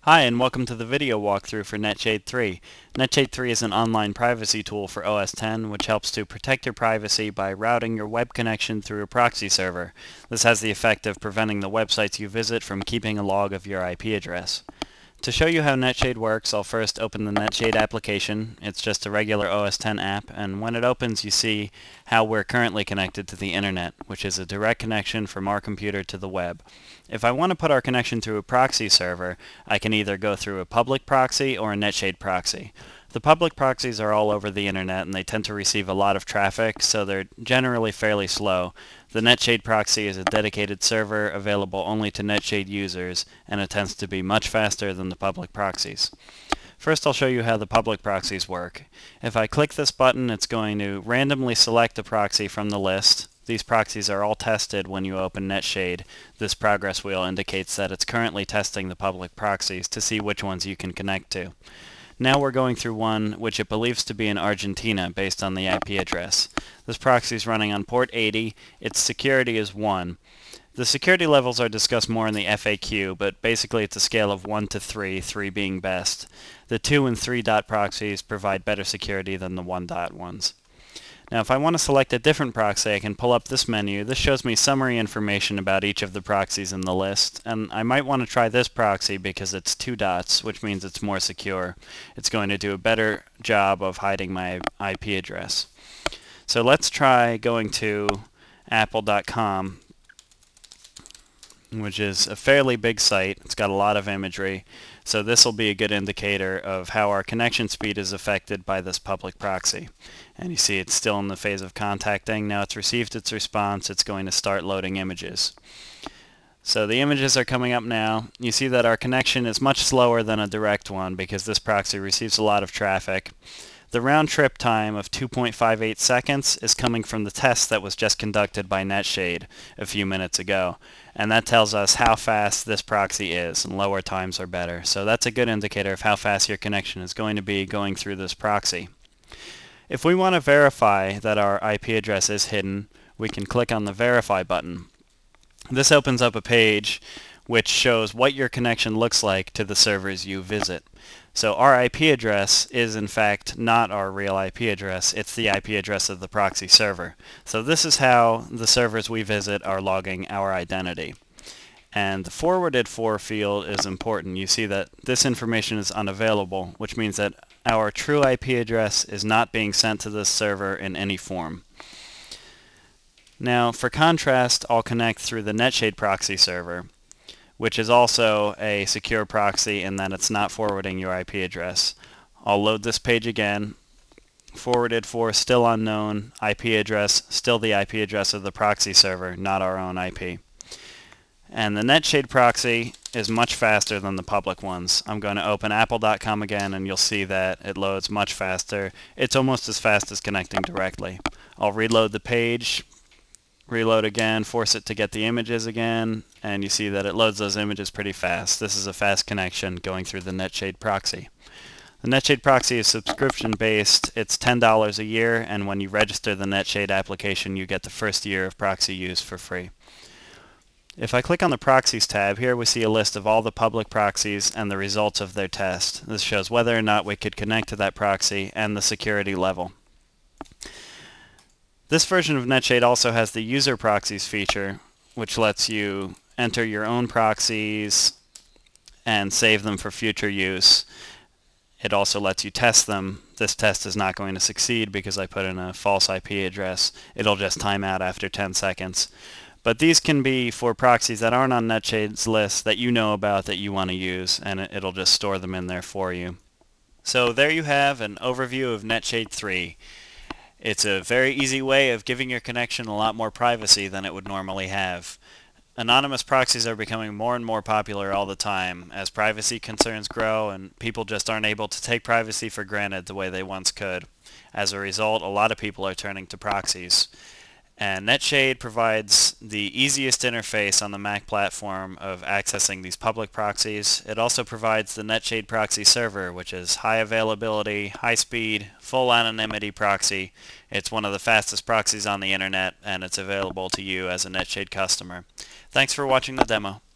Hi, and welcome to the video walkthrough for Netshade 3. Netshade 3 is an online privacy tool for OS X which helps to protect your privacy by routing your web connection through a proxy server. This has the effect of preventing the websites you visit from keeping a log of your IP address. To show you how Netshade works, I'll first open the Netshade application. It's just a regular OS X app, and when it opens you see how we're currently connected to the internet, which is a direct connection from our computer to the web. If I want to put our connection through a proxy server, I can either go through a public proxy or a Netshade proxy. The public proxies are all over the internet and they tend to receive a lot of traffic, so they're generally fairly slow. The Netshade proxy is a dedicated server available only to Netshade users, and it tends to be much faster than the public proxies. First, I'll show you how the public proxies work. If I click this button, it's going to randomly select a proxy from the list. These proxies are all tested when you open Netshade. This progress wheel indicates that it's currently testing the public proxies to see which ones you can connect to. Now we're going through one which it believes to be in Argentina based on the IP address. This proxy is running on port 80. Its security is 1. The security levels are discussed more in the FAQ, but basically it's a scale of 1 to 3, 3 being best. The 2 and 3 dot proxies provide better security than the 1 dot ones. Now if I want to select a different proxy, I can pull up this menu. This shows me summary information about each of the proxies in the list, and I might want to try this proxy because it's 2 dots, which means it's more secure. It's going to do a better job of hiding my IP address. So let's try going to apple.com, which is a fairly big site. It's got a lot of imagery, so this will be a good indicator of how our connection speed is affected by this public proxy. And you see it's still in the phase of contacting. Now it's received its response. It's going to start loading images. So the images are coming up now. You see that our connection is much slower than a direct one because this proxy receives a lot of traffic. The round trip time of 2.58 seconds is coming from the test that was just conducted by Netshade a few minutes ago. And that tells us how fast this proxy is, and lower times are better. So that's a good indicator of how fast your connection is going to be going through this proxy. If we want to verify that our IP address is hidden, we can click on the Verify button. This opens up a page which shows what your connection looks like to the servers you visit. So our IP address is in fact not our real IP address, it's the IP address of the proxy server. So this is how the servers we visit are logging our identity. And the forwarded for field is important. You see that this information is unavailable, which means that our true IP address is not being sent to this server in any form. Now, for contrast, I'll connect through the Netshade proxy server, which is also a secure proxy in that it's not forwarding your IP address. I'll load this page again. Forwarded for still unknown, IP address still the IP address of the proxy server, not our own IP. And the Netshade proxy is much faster than the public ones. I'm going to open apple.com again and you'll see that it loads much faster. It's almost as fast as connecting directly. I'll reload the page, reload again, force it to get the images again, and you see that it loads those images pretty fast. This is a fast connection going through the Netshade proxy. The Netshade proxy is subscription based. It's $10 a year, and when you register the Netshade application you get the first year of proxy use for free. If I click on the Proxies tab, here we see a list of all the public proxies and the results of their test. This shows whether or not we could connect to that proxy and the security level. This version of Netshade also has the User Proxies feature, which lets you enter your own proxies and save them for future use. It also lets you test them. This test is not going to succeed because I put in a false IP address. It'll just time out after 10 seconds. But these can be for proxies that aren't on Netshade's list that you know about that you want to use, and it'll just store them in there for you. So there you have an overview of Netshade 3. It's a very easy way of giving your connection a lot more privacy than it would normally have. Anonymous proxies are becoming more and more popular all the time as privacy concerns grow and people just aren't able to take privacy for granted the way they once could. As a result, a lot of people are turning to proxies. And Netshade provides the easiest interface on the Mac platform of accessing these public proxies. It also provides the Netshade proxy server, which is high availability, high speed, full anonymity proxy. It's one of the fastest proxies on the internet, and it's available to you as a Netshade customer. Thanks for watching the demo.